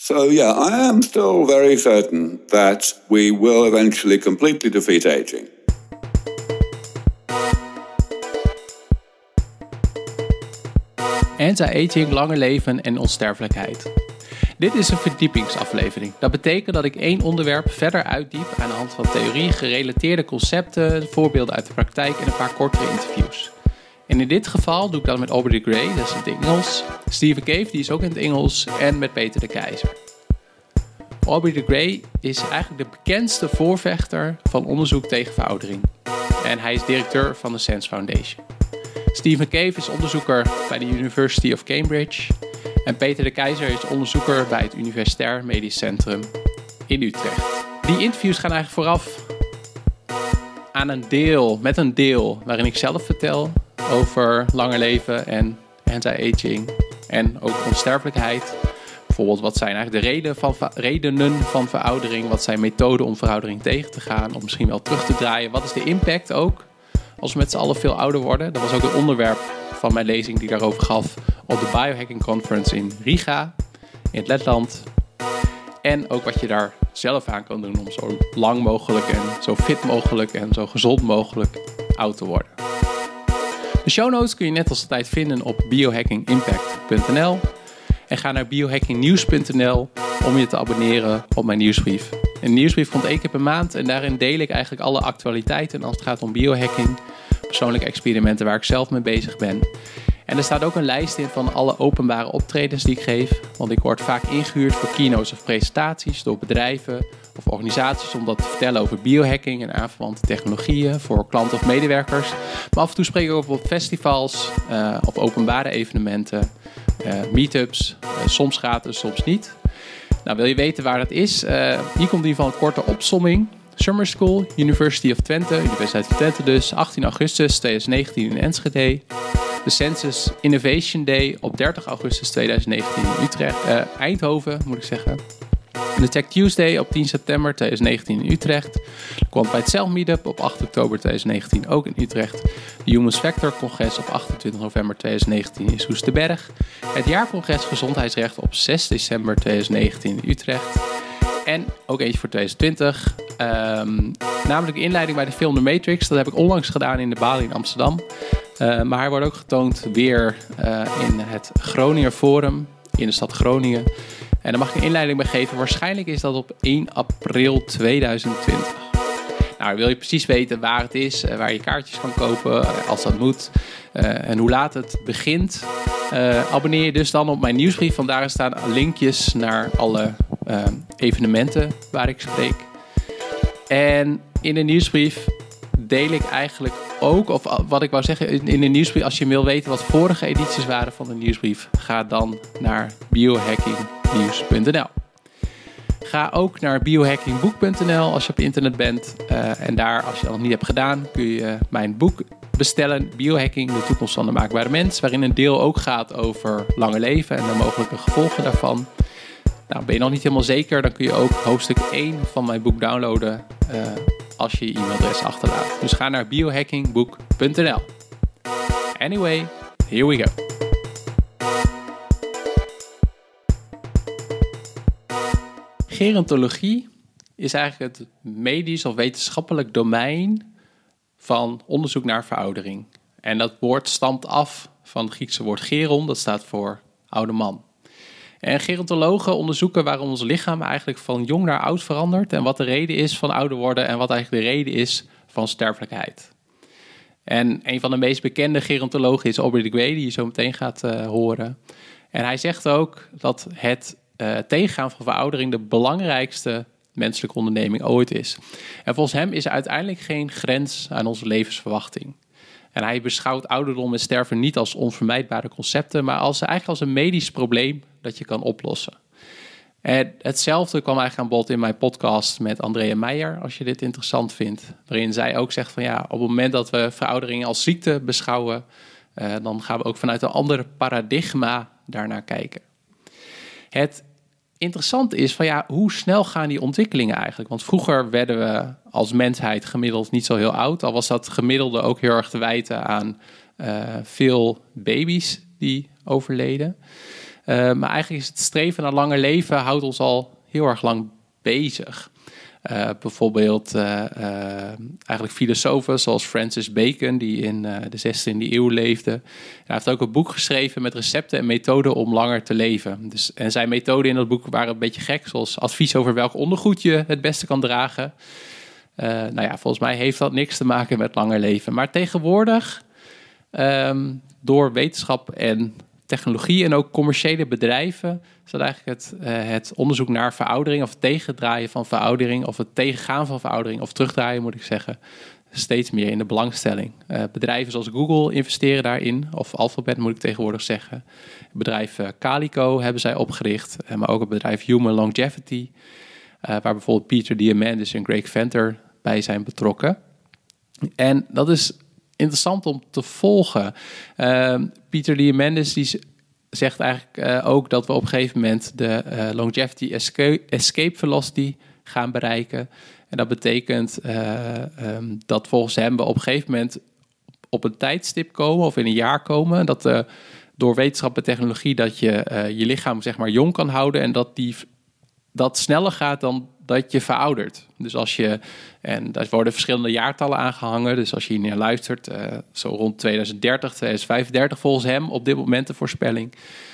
So yeah, I am still very certain that we will eventually completely defeat aging. Anti-aging, langer leven en onsterfelijkheid. Dit is een verdiepingsaflevering. Dat betekent dat ik één onderwerp verder uitdiep aan de hand van theorie, gerelateerde concepten, voorbeelden uit de praktijk en een paar kortere interviews. En in dit geval doe ik dat met Aubrey de Grey, dat is in het Engels, Stephen Cave, die is ook in het Engels, en met Peter de Keizer. Aubrey de Grey is eigenlijk de bekendste voorvechter van onderzoek tegen veroudering. En hij is directeur van de Sense Foundation. Stephen Cave is onderzoeker bij de University of Cambridge. En Peter de Keizer is onderzoeker bij het Universitair Medisch Centrum in Utrecht. Die interviews gaan eigenlijk vooraf aan met een deel waarin ik zelf vertel over langer leven en anti-aging en ook onsterfelijkheid. Bijvoorbeeld, wat zijn eigenlijk de redenen van veroudering? Wat zijn methoden om veroudering tegen te gaan? Of misschien wel terug te draaien? Wat is de impact ook als we met z'n allen veel ouder worden? Dat was ook het onderwerp van mijn lezing die ik daarover gaf op de Biohacking Conference in Riga, in het Letland. En ook wat je daar zelf aan kan doen om zo lang mogelijk en zo fit mogelijk en zo gezond mogelijk oud te worden. De show notes kun je net als altijd vinden op biohackingimpact.nl. En ga naar biohackingnieuws.nl om je te abonneren op mijn nieuwsbrief. Een nieuwsbrief komt 1 keer per maand en daarin deel ik eigenlijk alle actualiteiten als het gaat om biohacking, persoonlijke experimenten waar ik zelf mee bezig ben. En er staat ook een lijst in van alle openbare optredens die ik geef, want ik word vaak ingehuurd voor keynotes of presentaties door bedrijven of organisaties om dat te vertellen over biohacking en aanverwante technologieën voor klanten of medewerkers. Maar af en toe spreek ik ook op festivals, op openbare evenementen, meetups, soms gratis, soms niet. Nou, wil je weten waar dat is? Hier komt in ieder geval een korte opsomming. Summer School, University of Twente, Universiteit van Twente dus, 18 augustus 2019 in Enschede. De Census Innovation Day op 30 augustus 2019 in Eindhoven, moet ik zeggen. De Tech Tuesday op 10 september 2019 in Utrecht. De Quantified Cell Meetup op 8 oktober 2019 ook in Utrecht. De Human Factor Congres op 28 november 2019 in Soesterberg. Het jaarcongres Gezondheidsrecht op 6 december 2019 in Utrecht. En ook eentje voor 2020. Namelijk de inleiding bij de film The Matrix. Dat heb ik onlangs gedaan in de Bali in Amsterdam. Maar hij wordt ook getoond weer in het Groninger Forum in de stad Groningen. En daar mag ik een inleiding bij geven. Waarschijnlijk is dat op 1 april 2020. Nou, wil je precies weten waar het is, waar je kaartjes kan kopen, als dat moet, en hoe laat het begint, abonneer je dus dan op mijn nieuwsbrief. Want daar staan linkjes naar alle evenementen waar ik spreek. En in de nieuwsbrief deel ik eigenlijk ook, of wat ik wou zeggen, in de nieuwsbrief, als je wil weten wat vorige edities waren van de nieuwsbrief, ga dan naar biohackingnieuws.nl. Ga ook naar biohackingboek.nl als je op internet bent. En daar, als je dat nog niet hebt gedaan, kun je mijn boek bestellen. Biohacking, de toekomst van de maakbare mens. Waarin een deel ook gaat over langer leven en de mogelijke gevolgen daarvan. Nou, ben je nog niet helemaal zeker, dan kun je ook hoofdstuk 1 van mijn boek downloaden als je je e-mailadres achterlaat. Dus ga naar biohackingboek.nl. Anyway, here we go. Gerontologie is eigenlijk het medisch of wetenschappelijk domein van onderzoek naar veroudering. En dat woord stamt af van het Griekse woord geron, dat staat voor oude man. En gerontologen onderzoeken waarom ons lichaam eigenlijk van jong naar oud verandert en wat de reden is van ouder worden en wat eigenlijk de reden is van sterfelijkheid. En een van de meest bekende gerontologen is Aubrey de Grey, die je zo meteen gaat horen. En hij zegt ook dat het tegengaan van veroudering de belangrijkste menselijke onderneming ooit is. En volgens hem is er uiteindelijk geen grens aan onze levensverwachting. En hij beschouwt ouderdom en sterven niet als onvermijdbare concepten, maar eigenlijk als een medisch probleem dat je kan oplossen. En hetzelfde kwam eigenlijk aan bod in mijn podcast met Andrea Meijer, als je dit interessant vindt. Waarin zij ook zegt van ja, op het moment dat we veroudering als ziekte beschouwen, dan gaan we ook vanuit een ander paradigma daarnaar kijken. Het interessante is van ja, hoe snel gaan die ontwikkelingen eigenlijk? Want vroeger werden we als mensheid gemiddeld niet zo heel oud. Al was dat gemiddelde ook heel erg te wijten aan veel baby's die overleden. Maar eigenlijk is het streven naar langer leven houdt ons al heel erg lang bezig. Bijvoorbeeld eigenlijk filosofen zoals Francis Bacon, die in de 16e eeuw leefde. Hij heeft ook een boek geschreven met recepten en methoden om langer te leven. En zijn methoden in dat boek waren een beetje gek, zoals advies over welk ondergoed je het beste kan dragen. Volgens mij heeft dat niks te maken met langer leven. Maar tegenwoordig, door wetenschap en technologie en ook commerciële bedrijven, is dat eigenlijk het onderzoek naar veroudering of het tegendraaien van veroudering of het tegengaan van veroudering of terugdraaien, moet ik zeggen, steeds meer in de belangstelling. Bedrijven zoals Google investeren daarin, of Alphabet moet ik tegenwoordig zeggen. Het bedrijf Calico hebben zij opgericht, maar ook het bedrijf Human Longevity, waar bijvoorbeeld Peter Diamandis en Greg Venter bij zijn betrokken. En dat is interessant om te volgen. Peter Diamandis die zegt eigenlijk ook dat we op een gegeven moment de longevity escape velocity gaan bereiken. En dat betekent dat volgens hem we op een gegeven moment op een tijdstip komen of in een jaar komen. Dat door wetenschap en technologie dat je je lichaam zeg maar jong kan houden en dat sneller gaat dan dat je veroudert. Dus en daar worden verschillende jaartallen aangehangen. Dus als je hier naar luistert, zo rond 2030, 2035 volgens hem op dit moment de voorspelling.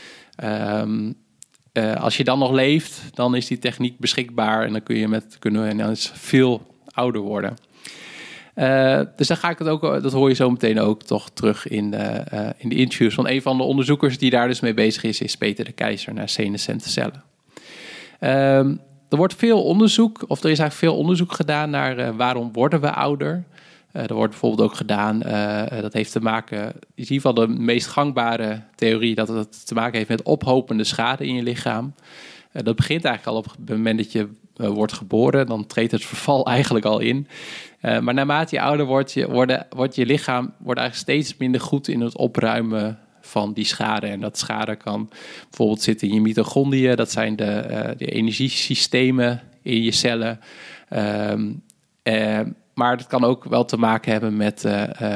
Als je dan nog leeft, dan is die techniek beschikbaar en dan kunnen we dan veel ouder worden. Dus dan ga ik het ook, dat hoor je zo meteen ook toch terug in de interviews van een van de onderzoekers die daar dus mee bezig is Peter de Keizer naar senescente cellen. Er wordt veel onderzoek, of er is eigenlijk veel onderzoek gedaan naar waarom worden we ouder. Er wordt bijvoorbeeld ook gedaan, dat heeft te maken, in ieder geval de meest gangbare theorie, dat het te maken heeft met ophopende schade in je lichaam. Dat begint eigenlijk al op het moment dat je wordt geboren, dan treedt het verval eigenlijk al in. Maar naarmate je ouder wordt je lichaam eigenlijk steeds minder goed in het opruimen van die schade. En dat schade kan bijvoorbeeld zitten in je mitochondriën. Dat zijn de energiesystemen in je cellen. Maar dat kan ook wel te maken hebben met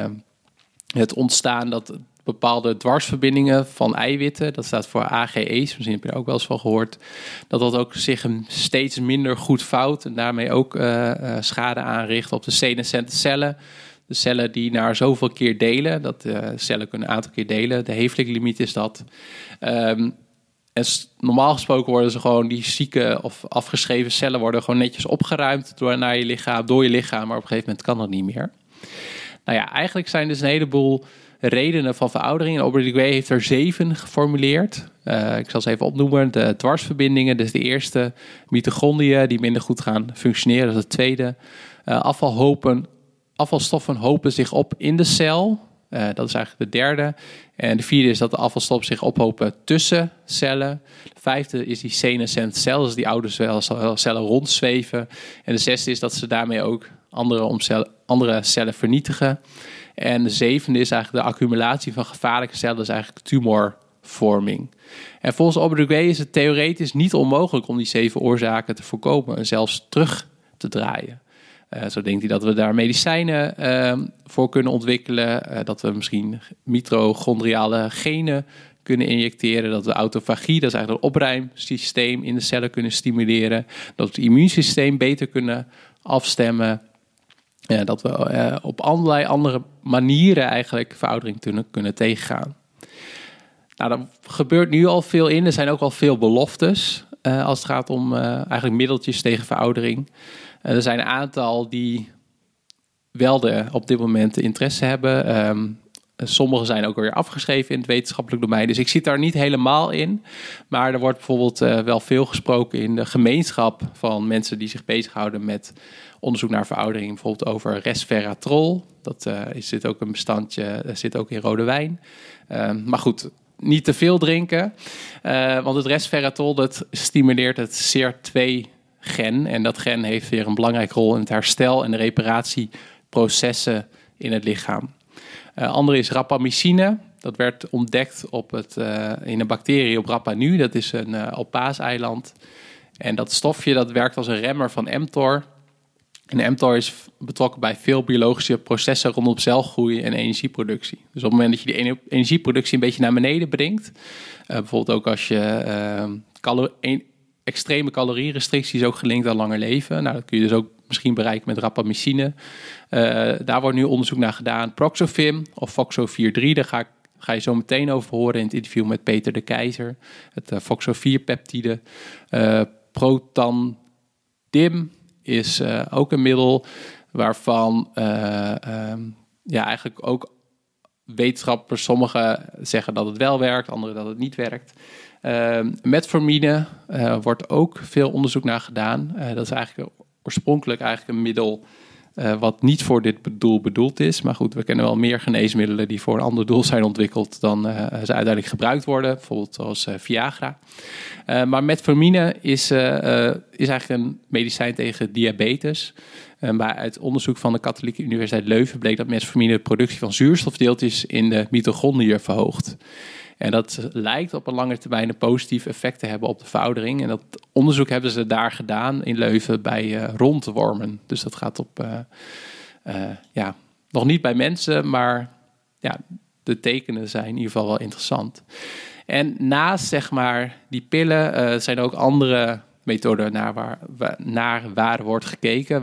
het ontstaan dat bepaalde dwarsverbindingen van eiwitten, dat staat voor AGE's, misschien heb je er ook wel eens van gehoord, dat ook zich steeds minder goed vouwt en daarmee ook schade aanricht op de senescente cellen. De cellen die naar zoveel keer delen, cellen kunnen een aantal keer delen, de Hayflick-limiet is dat. En normaal gesproken worden ze gewoon, die zieke of afgeschreven cellen worden gewoon netjes opgeruimd door je lichaam, maar op een gegeven moment kan dat niet meer. Nou ja, eigenlijk zijn dus een heleboel redenen van veroudering. En Aubrey heeft er 7 geformuleerd. Ik zal ze even opnoemen. De dwarsverbindingen, dus de eerste. Mitochondriën die minder goed gaan functioneren, dat is het tweede. Afvalstoffen hopen zich op in de cel. Dat is eigenlijk de derde. En de vierde is dat de afvalstoffen zich ophopen tussen cellen. De vijfde is die senescente cel, dus die oude cellen rondzweven. En de zesde is dat ze daarmee ook andere cellen vernietigen. En de zevende is eigenlijk de accumulatie van gevaarlijke cellen, dat is eigenlijk tumorvorming. En volgens Aubrey is het theoretisch niet onmogelijk om die 7 oorzaken te voorkomen en zelfs terug te draaien. Zo denkt hij dat we daar medicijnen voor kunnen ontwikkelen. Dat we misschien mitochondriale genen kunnen injecteren. Dat we autofagie, dat is eigenlijk het opruimsysteem in de cellen kunnen stimuleren. Dat we het immuunsysteem beter kunnen afstemmen. Dat we op allerlei andere manieren eigenlijk veroudering kunnen tegengaan. Nou, daar gebeurt nu al veel in. Er zijn ook al veel beloftes als het gaat om eigenlijk middeltjes tegen veroudering. Er zijn een aantal die wel op dit moment de interesse hebben. Sommige zijn ook alweer afgeschreven in het wetenschappelijk domein. Dus ik zit daar niet helemaal in. Maar er wordt bijvoorbeeld wel veel gesproken in de gemeenschap van mensen die zich bezighouden met onderzoek naar veroudering. Bijvoorbeeld over resveratrol. Dat zit ook een bestandje, zit ook in rode wijn. Maar goed, niet te veel drinken. Want het resveratrol dat stimuleert het SER2-gen. En dat gen heeft weer een belangrijke rol in het herstel en de reparatieprocessen in het lichaam. Andere is rapamycine. Dat werd ontdekt in een bacterie op Rapa Nui. Dat is een op Paaseiland. En dat stofje dat werkt als een remmer van mTOR. En mTOR is betrokken bij veel biologische processen rondom celgroei en energieproductie. Dus op het moment dat je die energieproductie een beetje naar beneden brengt, bijvoorbeeld ook als je extreme calorierestricties ook gelinkt aan langer leven. Nou, dat kun je dus ook misschien bereiken met rapamycine. Daar wordt nu onderzoek naar gedaan. Proxofim of FOXO43, daar ga je zo meteen over horen in het interview met Peter de Keizer. Het FOXO4-peptide. Protandim is ook een middel waarvan eigenlijk ook wetenschappers, sommigen zeggen dat het wel werkt, anderen dat het niet werkt. Metformine wordt ook veel onderzoek naar gedaan. Dat is eigenlijk oorspronkelijk een middel wat niet voor dit doel bedoeld is. Maar goed, we kennen wel meer geneesmiddelen die voor een ander doel zijn ontwikkeld dan ze uiteindelijk gebruikt worden. Bijvoorbeeld zoals Viagra. Maar metformine is eigenlijk een medicijn tegen diabetes. Maar uit onderzoek van de Katholieke Universiteit Leuven bleek dat metformine de productie van zuurstofdeeltjes in de mitochondriën verhoogt. En dat lijkt op een lange termijn een positief effect te hebben op de veroudering. En dat onderzoek hebben ze daar gedaan in Leuven bij rondwormen. Dus dat gaat op, nog niet bij mensen, maar ja, de tekenen zijn in ieder geval wel interessant. En naast die pillen zijn er ook andere methoden naar wordt gekeken.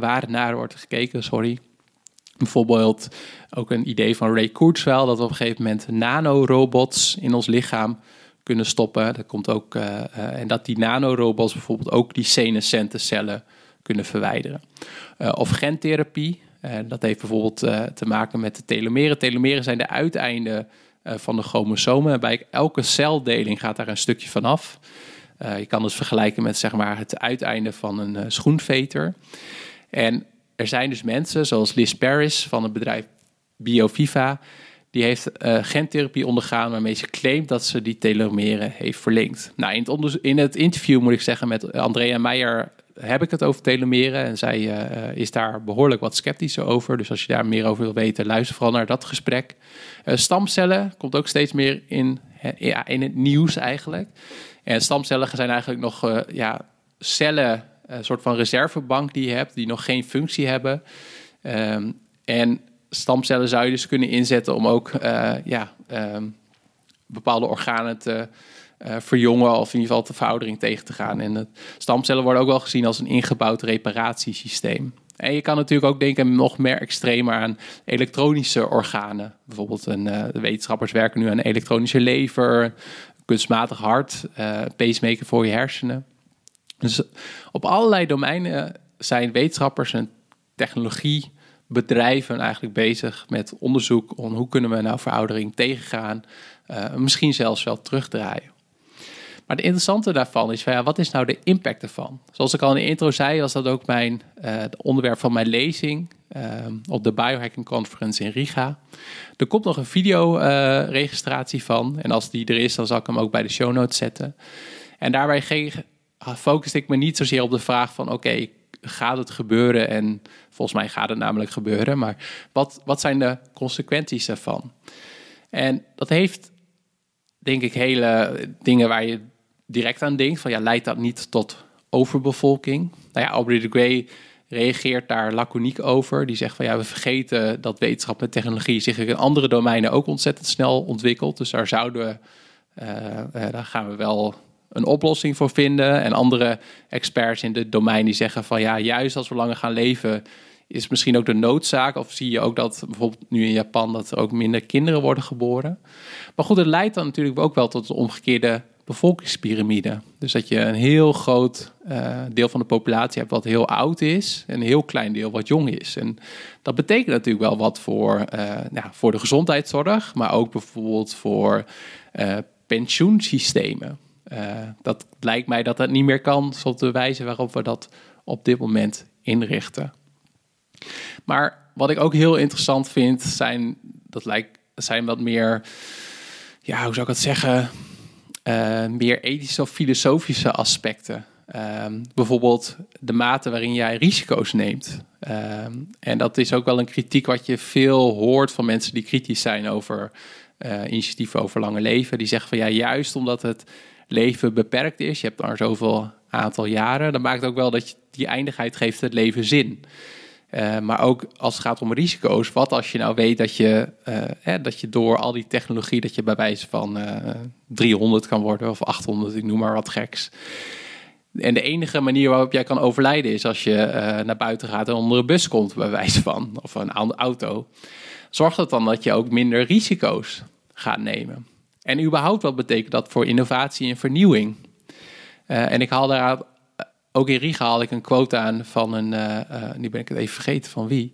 Bijvoorbeeld ook een idee van Ray Kurzweil dat we op een gegeven moment nanorobots in ons lichaam kunnen stoppen. Dat komt ook, en dat die nanorobots bijvoorbeeld ook die senescente cellen kunnen verwijderen. Of gentherapie. Dat heeft bijvoorbeeld te maken met de telomeren. Telomeren zijn de uiteinden van de chromosomen. En bij elke celdeling gaat daar een stukje vanaf. Je kan het vergelijken met het uiteinde van een schoenveter. En er zijn dus mensen, zoals Liz Paris van het bedrijf BioViva, die heeft gentherapie ondergaan waarmee ze claimt dat ze die telomeren heeft verlengd. Nou, in het interview, moet ik zeggen, met Andrea Meijer heb ik het over telomeren. En zij is daar behoorlijk wat sceptischer over. Dus als je daar meer over wil weten, luister vooral naar dat gesprek. Stamcellen komt ook steeds meer in het nieuws eigenlijk. En stamcellen zijn eigenlijk nog cellen, een soort van reservebank die je hebt, die nog geen functie hebben. En stamcellen zou je dus kunnen inzetten om ook bepaalde organen te verjongen of in ieder geval de veroudering tegen te gaan. En stamcellen worden ook wel gezien als een ingebouwd reparatiesysteem. En je kan natuurlijk ook denken nog meer extremer aan elektronische organen. Bijvoorbeeld de wetenschappers werken nu aan een elektronische lever, kunstmatig hart, pacemaker voor je hersenen. Dus op allerlei domeinen zijn wetenschappers en technologiebedrijven eigenlijk bezig met onderzoek om hoe kunnen we nou veroudering tegengaan, misschien zelfs wel terugdraaien. Maar het interessante daarvan is, wat is nou de impact ervan? Zoals ik al in de intro zei, was dat ook het onderwerp van mijn lezing op de Biohacking Conference in Riga. Er komt nog een videoregistratie van. En als die er is, dan zal ik hem ook bij de show notes zetten. En daarbij focuste ik me niet zozeer op de vraag van oké, gaat het gebeuren? En volgens mij gaat het namelijk gebeuren. Maar wat zijn de consequenties daarvan? En dat heeft, denk ik, hele dingen waar je direct aan denkt. Van leidt dat niet tot overbevolking? Nou ja, Aubrey de Grey reageert daar laconiek over. Die zegt we vergeten dat wetenschap en technologie zich in andere domeinen ook ontzettend snel ontwikkelt. Dus daar daar gaan we wel een oplossing voor vinden. En andere experts in dit domein die zeggen van juist als we langer gaan leven, is misschien ook de noodzaak. Of zie je ook dat bijvoorbeeld nu in Japan dat er ook minder kinderen worden geboren. Maar goed, het leidt dan natuurlijk ook wel tot een omgekeerde bevolkingspyramide. Dus dat je een heel groot deel van de populatie hebt wat heel oud is en een heel klein deel wat jong is. En dat betekent natuurlijk wel wat voor de gezondheidszorg, maar ook bijvoorbeeld voor pensioensystemen. Dat lijkt mij dat niet meer kan, op de wijze waarop we dat op dit moment inrichten. Maar wat ik ook heel interessant vind, zijn wat meer, hoe zou ik het zeggen, meer ethische of filosofische aspecten. Bijvoorbeeld de mate waarin jij risico's neemt. En dat is ook wel een kritiek wat je veel hoort van mensen die kritisch zijn over initiatieven over lange leven. Die zeggen van juist omdat het leven beperkt is, je hebt maar zoveel aantal jaren, dat maakt ook wel dat die eindigheid geeft het leven zin. Maar ook als het gaat om risico's. Wat als je nou weet dat je door al die technologie... dat je bij wijze van 300 kan worden of 800, ik noem maar wat geks. En de enige manier waarop jij kan overlijden is als je naar buiten gaat en onder een bus komt, bij wijze van, of een auto. Zorgt dat dan dat je ook minder risico's gaat nemen. En überhaupt, wat betekent dat voor innovatie en vernieuwing? En ik haal daar ook in Riga haal ik een quote aan van nu ben ik het even vergeten van wie.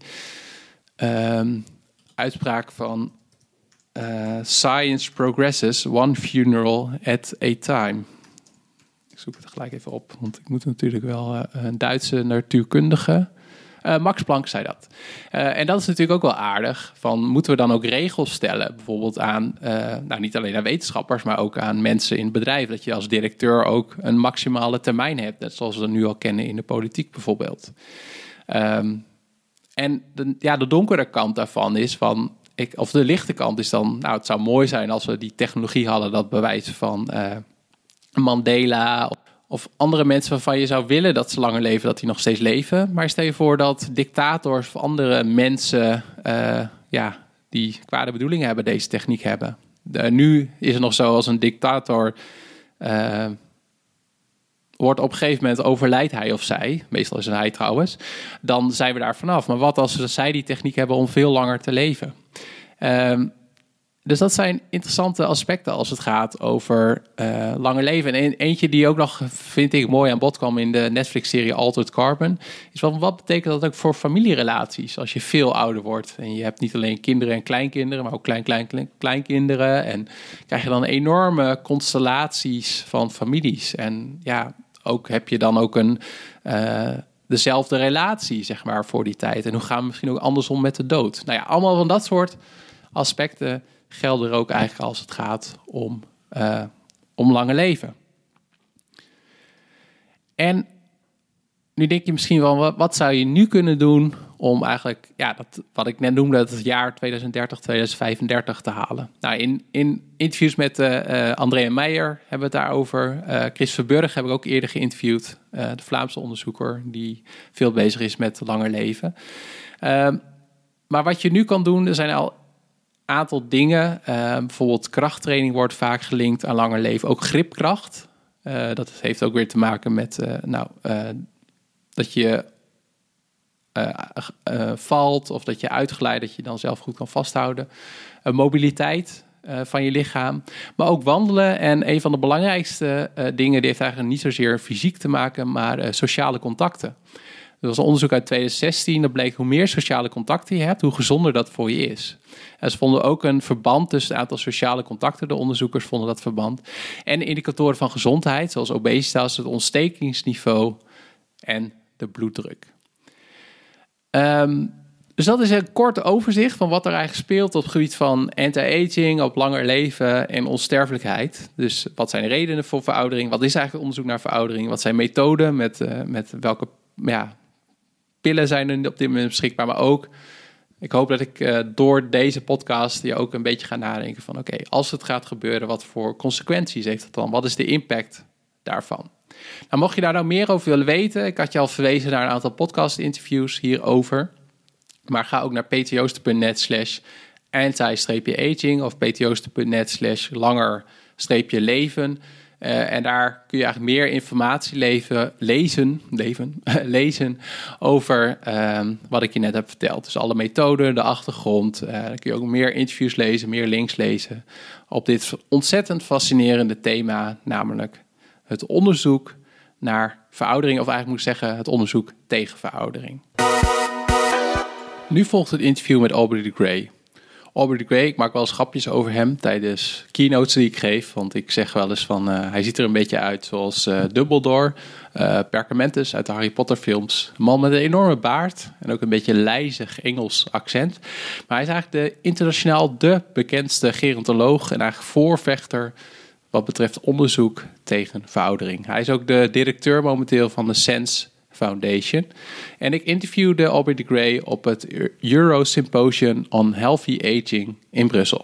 Uitspraak van Science progresses one funeral at a time. Ik zoek het gelijk even op, want ik moet natuurlijk wel een Duitse natuurkundige. Max Planck zei dat. En dat is natuurlijk ook wel aardig. Moeten we dan ook regels stellen? Bijvoorbeeld aan, niet alleen aan wetenschappers, maar ook aan mensen in het bedrijf. Dat je als directeur ook een maximale termijn hebt. Net zoals we dat nu al kennen in de politiek bijvoorbeeld. En de donkere kant daarvan is of de lichte kant is dan, het zou mooi zijn als we die technologie hadden dat bewijs van Mandela of andere mensen waarvan je zou willen dat ze langer leven, dat die nog steeds leven. Maar stel je voor dat dictators of andere mensen die kwade bedoelingen hebben, deze techniek hebben. Nu is het nog zo, als een dictator wordt op een gegeven moment overlijdt hij of zij, meestal is het hij trouwens, dan zijn we daar vanaf. Maar wat als zij die techniek hebben om veel langer te leven? Dus dat zijn interessante aspecten als het gaat over langer leven. En eentje die ook nog, vind ik, mooi aan bod kwam in de Netflix-serie Altered Carbon, is wat betekent dat ook voor familierelaties als je veel ouder wordt. En je hebt niet alleen kinderen en kleinkinderen, maar ook kleinkinderen. En krijg je dan enorme constellaties van families. En ook heb je dan ook dezelfde relatie, zeg maar, voor die tijd. En hoe gaan we misschien ook andersom met de dood? Allemaal van dat soort aspecten gelden er ook eigenlijk als het gaat om lange leven. En nu denk je misschien wel, wat zou je nu kunnen doen om eigenlijk, wat ik net noemde, het jaar 2030, 2035 te halen? In interviews met Andrea Meijer hebben we het daarover. Chris Verburg heb ik ook eerder geïnterviewd. De Vlaamse onderzoeker die veel bezig is met langer leven. Maar wat je nu kan doen, er zijn al aantal dingen. Bijvoorbeeld krachttraining wordt vaak gelinkt aan langer leven. Ook gripkracht. Dat heeft ook weer te maken met dat je valt of dat je uitglijdt, dat je dan zelf goed kan vasthouden. Mobiliteit van je lichaam. Maar ook wandelen. En een van de belangrijkste dingen, die heeft eigenlijk niet zozeer fysiek te maken, maar sociale contacten. Er was een onderzoek uit 2016, dat bleek hoe meer sociale contacten je hebt, hoe gezonder dat voor je is. En ze vonden ook een verband tussen het aantal sociale contacten, de onderzoekers vonden dat verband, en indicatoren van gezondheid, zoals obesitas, het ontstekingsniveau en de bloeddruk. Dus dat is een kort overzicht van wat er eigenlijk speelt op het gebied van anti-aging, op langer leven en onsterfelijkheid. Dus wat zijn de redenen voor veroudering? Wat is eigenlijk onderzoek naar veroudering? Wat zijn methoden? Met welke pillen zijn er op dit moment beschikbaar? Maar ook, ik hoop dat ik door deze podcast je ook een beetje ga nadenken van oké, als het gaat gebeuren, wat voor consequenties heeft het dan? Wat is de impact daarvan? Nou, mocht je daar nou meer over willen weten, ik had je al verwezen naar een aantal podcast-interviews hierover. Maar ga ook naar ptjoosten.net/anti-aging of ptjoosten.net/langer-leven. En daar kun je eigenlijk meer informatie lezen over wat ik je net heb verteld. Dus alle methoden, de achtergrond. Dan kun je ook meer interviews lezen, meer links lezen op dit ontzettend fascinerende thema, namelijk het onderzoek naar veroudering, of eigenlijk moet ik zeggen het onderzoek tegen veroudering. Nu volgt het interview met Aubrey de Grey. Aubrey de Grey, ik maak wel eens grapjes over hem tijdens keynotes die ik geef. Want ik zeg wel eens van, hij ziet er een beetje uit zoals Dumbledore, Perkamentus uit de Harry Potter films. Een man met een enorme baard en ook een beetje lijzig Engels accent. Maar hij is eigenlijk internationaal de bekendste gerontoloog en eigenlijk voorvechter wat betreft onderzoek tegen veroudering. Hij is ook de directeur momenteel van de SENS Foundation. En ik interviewde Aubrey de Grey op het Euro Symposium on Healthy Aging in Brussel.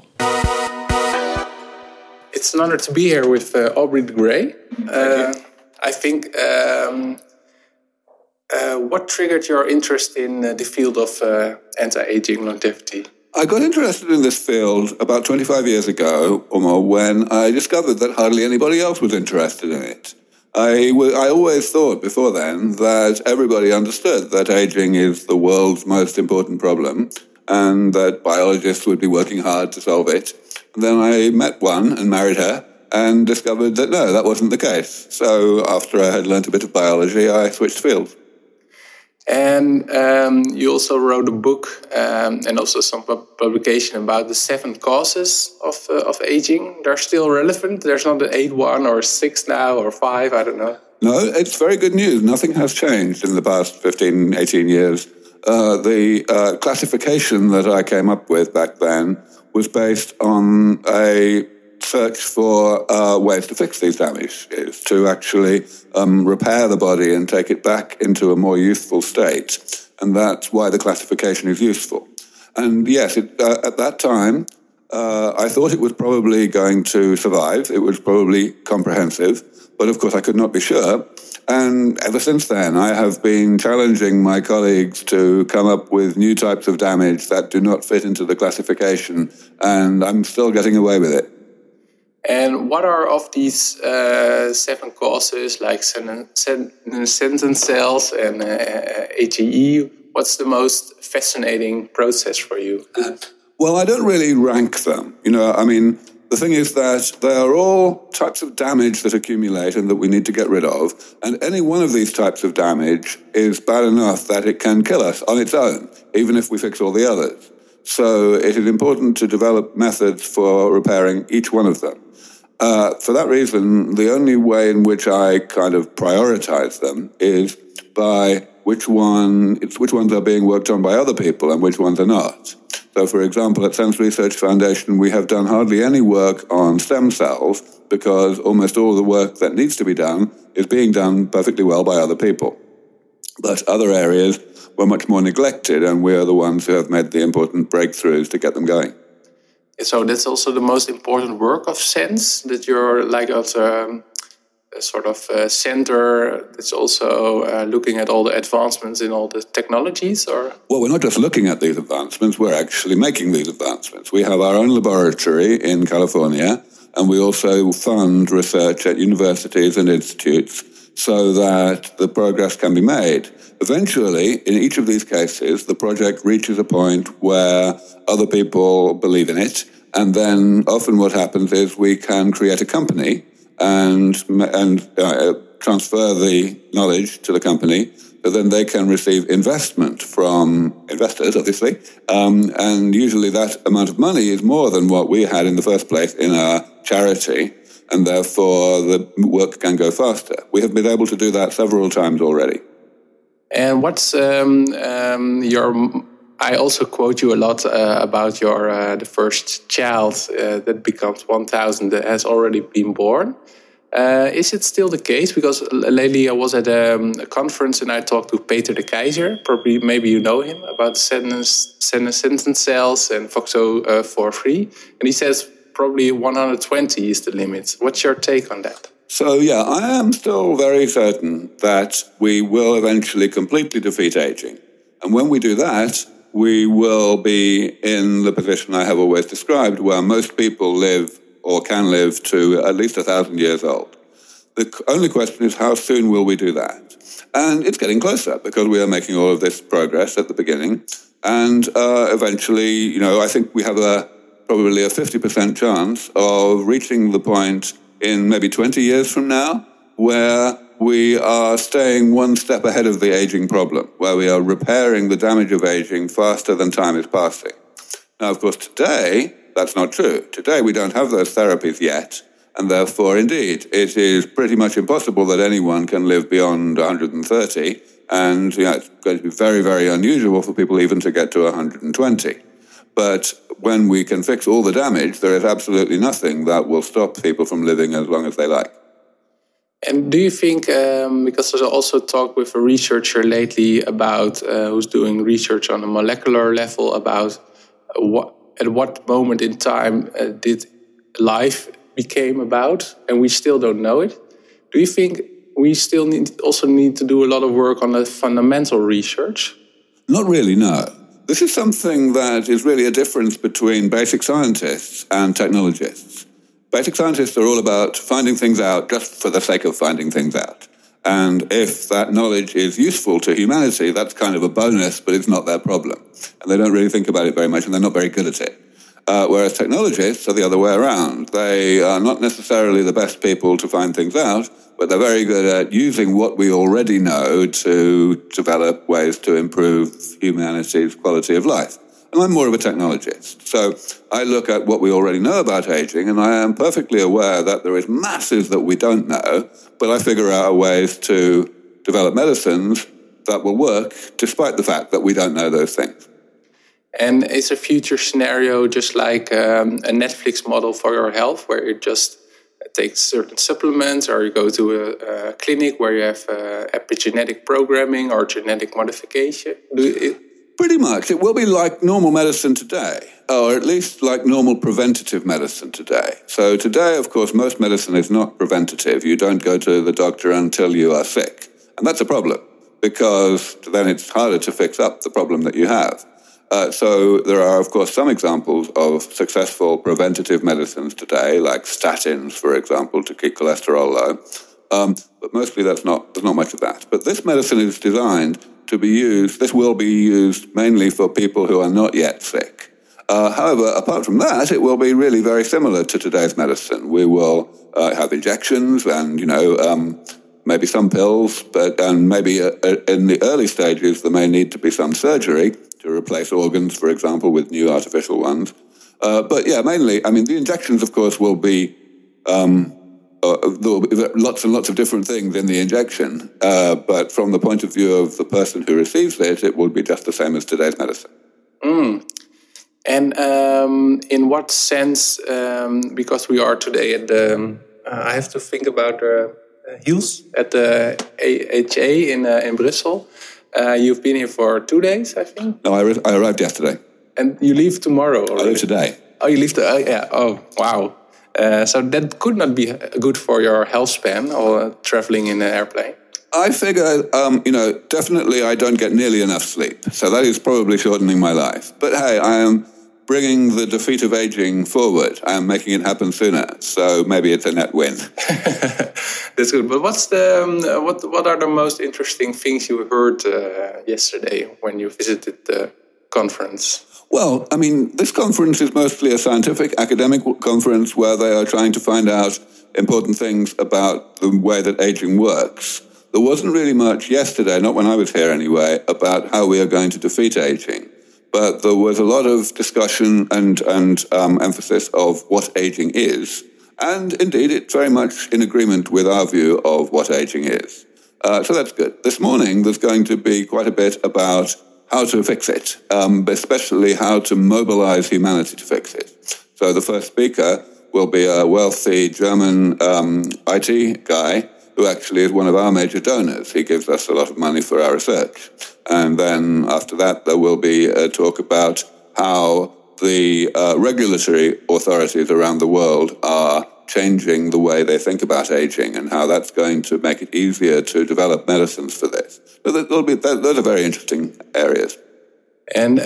It's an honor to be here with Aubrey de Grey. I think What triggered your interest in the field of anti-aging longevity? I got interested in this field about 25 years ago or more when I discovered that hardly anybody else was interested in it. I always thought before then that everybody understood that aging is the world's most important problem and that biologists would be working hard to solve it. And then I met one and married her and discovered that no, that wasn't the case. So after I had learnt a bit of biology, I switched fields. And you also wrote a book and also some publication about the 7 causes of aging. They're still relevant. There's not an 8-1 or 6 now or 5, I don't know. No, it's very good news. Nothing has changed in the past 15, 18 years. The classification that I came up with back then was based on a search for ways to fix these damages, to actually repair the body and take it back into a more youthful state. And that's why the classification is useful. And yes, at that time, I thought it was probably going to survive. It was probably comprehensive. But of course, I could not be sure. And ever since then, I have been challenging my colleagues to come up with new types of damage that do not fit into the classification. And I'm still getting away with it. And what are of these 7 causes, like senescent cells and AGE? What's the most fascinating process for you? Well, I don't really rank them. The thing is that they are all types of damage that accumulate and that we need to get rid of. And any one of these types of damage is bad enough that it can kill us on its own, even if we fix all the others. So it is important to develop methods for repairing each one of them. For that reason, the only way in which I kind of prioritize them is by which ones are being worked on by other people and which ones are not. So, for example, at Sense Research Foundation, we have done hardly any work on stem cells because almost all the work that needs to be done is being done perfectly well by other people. But other areas were much more neglected, and we are the ones who have made the important breakthroughs to get them going. So that's also the most important work of Sense, that you're like at a sort of center that's also looking at all the advancements in all the technologies, or? Well, we're not just looking at these advancements, we're actually making these advancements. We have our own laboratory in California, and we also fund research at universities and institutes so that the progress can be made. Eventually, in each of these cases, the project reaches a point where other people believe in it, and then often what happens is we can create a company and transfer the knowledge to the company, so then they can receive investment from investors, obviously, and usually that amount of money is more than what we had in the first place in our charity, and therefore the work can go faster. We have been able to do that several times already. And what's I also quote you a lot about your the first child that becomes 1,000 that has already been born. Is it still the case? Because lately I was at a conference and I talked to Peter de Keizer. Maybe you know him, about senescent cells and FOXO43. And he says probably 120 is the limit. What's your take on that? So, yeah, I am still very certain that we will eventually completely defeat aging. And when we do that, we will be in the position I have always described, where most people live or can live to at least 1,000 years old. The only question is, how soon will we do that? And it's getting closer because we are making all of this progress at the beginning. And eventually, I think we have probably a 50% chance of reaching the point in maybe 20 years from now, where we are staying one step ahead of the aging problem, where we are repairing the damage of aging faster than time is passing. Now, of course, today, that's not true. Today, we don't have those therapies yet, and therefore, indeed, it is pretty much impossible that anyone can live beyond 130, and it's going to be very, very unusual for people even to get to 120. But when we can fix all the damage, there is absolutely nothing that will stop people from living as long as they like. And do you think, because there's also talk with a researcher lately about who's doing research on a molecular level about at what moment in time did life became about, and we still don't know it. Do you think we still also need to do a lot of work on the fundamental research? Not really, no. This is something that is really a difference between basic scientists and technologists. Basic scientists are all about finding things out just for the sake of finding things out. And if that knowledge is useful to humanity, that's kind of a bonus, but it's not their problem. And they don't really think about it very much, and they're not very good at it. Whereas technologists are the other way around. They are not necessarily the best people to find things out, but they're very good at using what we already know to develop ways to improve humanity's quality of life. And I'm more of a technologist. So I look at what we already know about aging, and I am perfectly aware that there is masses that we don't know, but I figure out ways to develop medicines that will work despite the fact that we don't know those things. And is a future scenario just like a Netflix model for your health, where you just take certain supplements, or you go to a clinic where you have epigenetic programming or genetic modification? Pretty much. It will be like normal medicine today, or at least like normal preventative medicine today. So today, of course, most medicine is not preventative. You don't go to the doctor until you are sick. And that's a problem, because then it's harder to fix up the problem that you have. So there are, of course, some examples of successful preventative medicines today, like statins, for example, to keep cholesterol low. But mostly there's not much of that. But this medicine is designed to be used, this will be used mainly for people who are not yet sick. However, apart from that, it will be really very similar to today's medicine. We will have injections and, maybe some pills, and maybe in the early stages there may need to be some surgery to replace organs, for example, with new artificial ones. But yeah, mainly, the injections, of course, will be there will be lots and lots of different things in the injection, but from the point of view of the person who receives it, it will be just the same as today's medicine. And in what sense, because we are today at the, I have to think about HEALS at the AHA in Brussels. You've been here for 2 days, I think? No, I arrived yesterday. And you leave tomorrow already? I leave today. Oh, you leave yeah. Oh, wow. So that could not be good for your health span or traveling in an airplane. I figure, definitely I don't get nearly enough sleep. So that is probably shortening my life. But hey, I am bringing the defeat of aging forward. I am making it happen sooner. So maybe it's a net win. That's good. But what's the what are the most interesting things you heard yesterday when you visited the conference? Well, this conference is mostly a scientific academic conference where they are trying to find out important things about the way that aging works. There wasn't really much yesterday, not when I was here anyway, about how we are going to defeat aging. But there was a lot of discussion and emphasis of what aging is. And indeed, it's very much in agreement with our view of what aging is. So that's good. This morning, there's going to be quite a bit about how to fix it, especially how to mobilize humanity to fix it. So the first speaker will be a wealthy German IT guy who actually is one of our major donors. He gives us a lot of money for our research. And then after that, there will be a talk about how the regulatory authorities around the world are changing the way they think about aging and how that's going to make it easier to develop medicines for this. So those are very interesting areas. And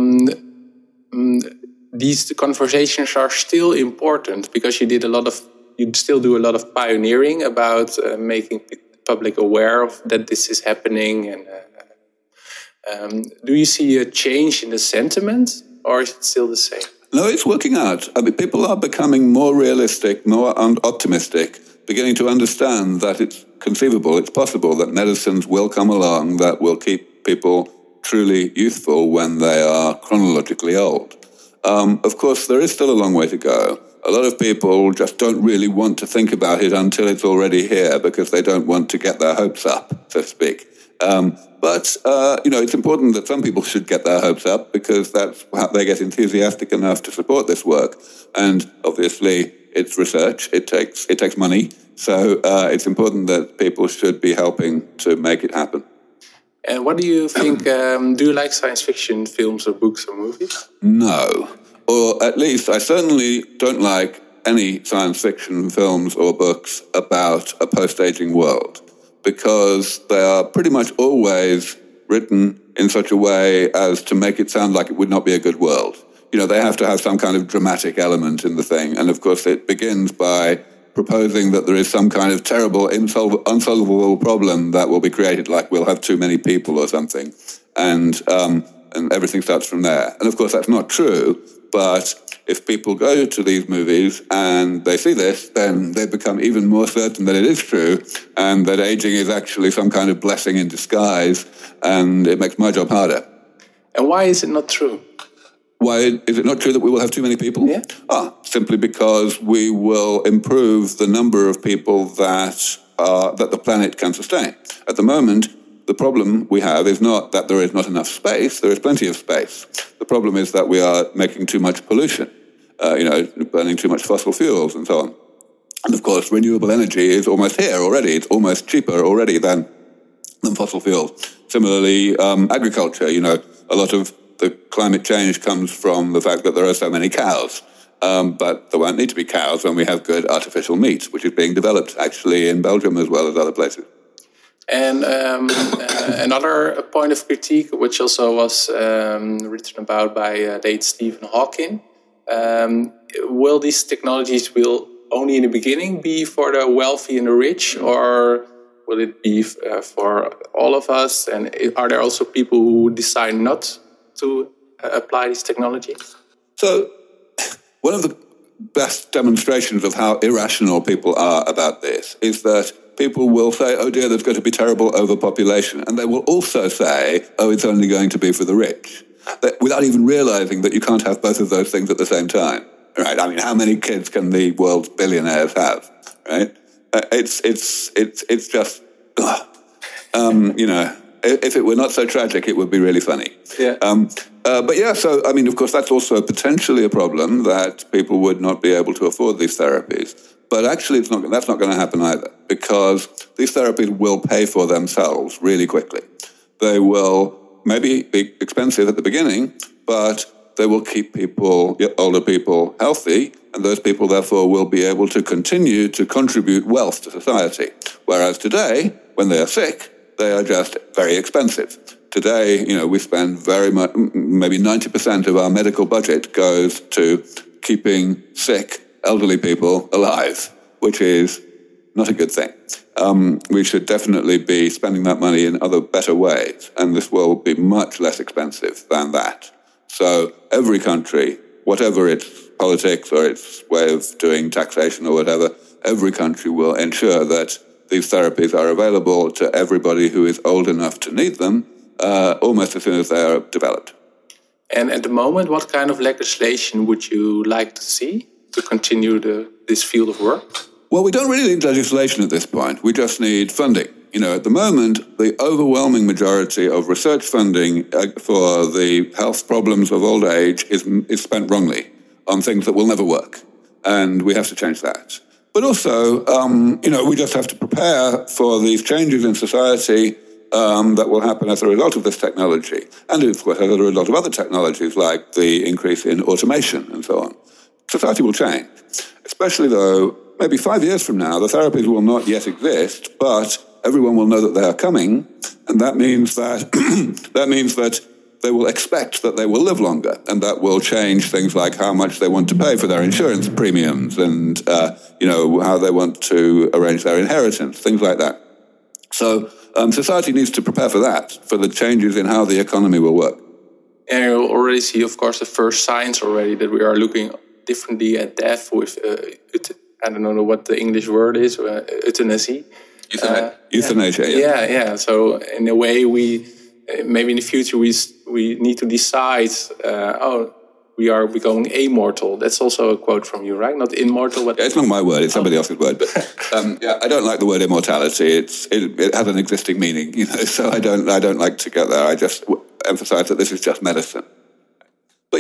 these conversations are still important because you still do a lot of pioneering about making the public aware of that this is happening. And do you see a change in the sentiment, or is it still the same? No, it's working out. People are becoming more realistic, more optimistic, beginning to understand that it's conceivable, it's possible that medicines will come along that will keep people truly youthful when they are chronologically old. Of course, there is still a long way to go. A lot of people just don't really want to think about it until it's already here because they don't want to get their hopes up, so to speak. But it's important that some people should get their hopes up because that's how they get enthusiastic enough to support this work. And obviously, it's research. It takes money. So it's important that people should be helping to make it happen. And what do you think? Do you like science fiction films or books or movies? No. Or at least I certainly don't like any science fiction films or books about a post-aging world. because they are pretty much always written in such a way as to make it sound like it would not be a good world. They have to have some kind of dramatic element in the thing. And of course, it begins by proposing that there is some kind of terrible, unsolvable problem that will be created, like we'll have too many people or something. And everything starts from there. And of course, that's not true. But if people go to these movies and they see this, then they become even more certain that it is true and that aging is actually some kind of blessing in disguise. And it makes my job harder. And why is it not true? Why is it not true that we will have too many people? Yeah. Simply because we will improve the number of people that the planet can sustain. At the moment, the problem we have is not that there is not enough space. There is plenty of space. The problem is that we are making too much pollution, burning too much fossil fuels and so on. And of course, renewable energy is almost here already. It's almost cheaper already than fossil fuels. Similarly, agriculture, a lot of the climate change comes from the fact that there are so many cows. But there won't need to be cows when we have good artificial meat, which is being developed actually in Belgium as well as other places. And another point of critique, which also was written about by late Stephen Hawking, will these technologies only in the beginning be for the wealthy and the rich, or will it be for all of us? And are there also people who decide not to apply these technologies? So one of the best demonstrations of how irrational people are about this is that people will say, oh dear, there's going to be terrible overpopulation. And they will also say, oh, it's only going to be for the rich. Without even realizing that you can't have both of those things at the same time. Right? I mean, how many kids can the world's billionaires have? Right? It's just, if it were not so tragic, it would be really funny. Yeah. So, I mean, of course, that's also potentially a problem that people would not be able to afford these therapies. But actually, that's not going to happen either, because these therapies will pay for themselves really quickly. They will maybe be expensive at the beginning, but they will keep older people healthy, and those people, therefore, will be able to continue to contribute wealth to society. Whereas today, when they are sick, they are just very expensive. Today, we spend very much, maybe 90% of our medical budget goes to keeping sick elderly people alive, which is not a good thing. We should definitely be spending that money in other better ways, and this will be much less expensive than that. So every country, whatever its politics or its way of doing taxation or whatever, every country will ensure that these therapies are available to everybody who is old enough to need them almost as soon as they are developed. And at the moment, what kind of legislation would you like to see to continue this field of work? Well, we don't really need legislation at this point. We just need funding. At the moment, the overwhelming majority of research funding for the health problems of old age is spent wrongly on things that will never work. And we have to change that. But also, we just have to prepare for these changes in society that will happen as a result of this technology. And, of course, as a result of other technologies like the increase in automation and so on. Society will change, especially though maybe 5 years from now, the therapies will not yet exist, but everyone will know that they are coming. And that means that they will expect that they will live longer, and that will change things like how much they want to pay for their insurance premiums and, how they want to arrange their inheritance, things like that. So society needs to prepare for that, for the changes in how the economy will work. And you already see, of course, the first signs already that we are looking differently at death with, I don't know what the English word is, euthanasia. Euthanasia, yeah. So in a way, maybe in the future we need to decide. We are becoming immortal. That's also a quote from you, right? Not immortal. But it's not my word; it's somebody else's word. But I don't like the word immortality. It has an existing meaning, So I don't like to get there. I just emphasize that this is just medicine. But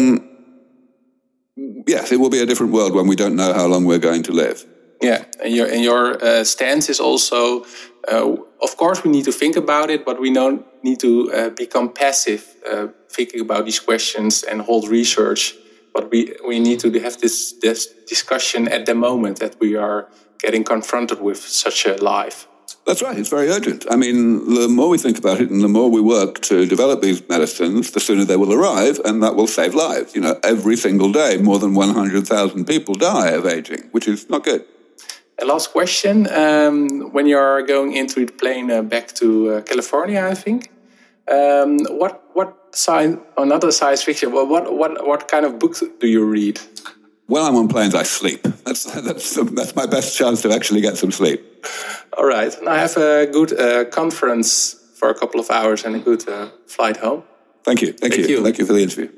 yes, it will be a different world when we don't know how long we're going to live. Yeah, and your stance is also, of course, we need to think about it, but we don't need to become passive thinking about these questions and hold research. But we need to have this discussion at the moment that we are getting confronted with such a life. That's right. It's very urgent. I mean, the more we think about it and the more we work to develop these medicines, the sooner they will arrive, and that will save lives. You know, every single day, more than 100,000 people die of aging, which is not good. A last question. When you're going into the plane back to California, I think, another science fiction, what kind of books do you read? When I'm on planes, I sleep. That's my best chance to actually get some sleep. All right. And I have a good conference for a couple of hours and a good flight home. Thank you. Thank you. Thank you for the interview.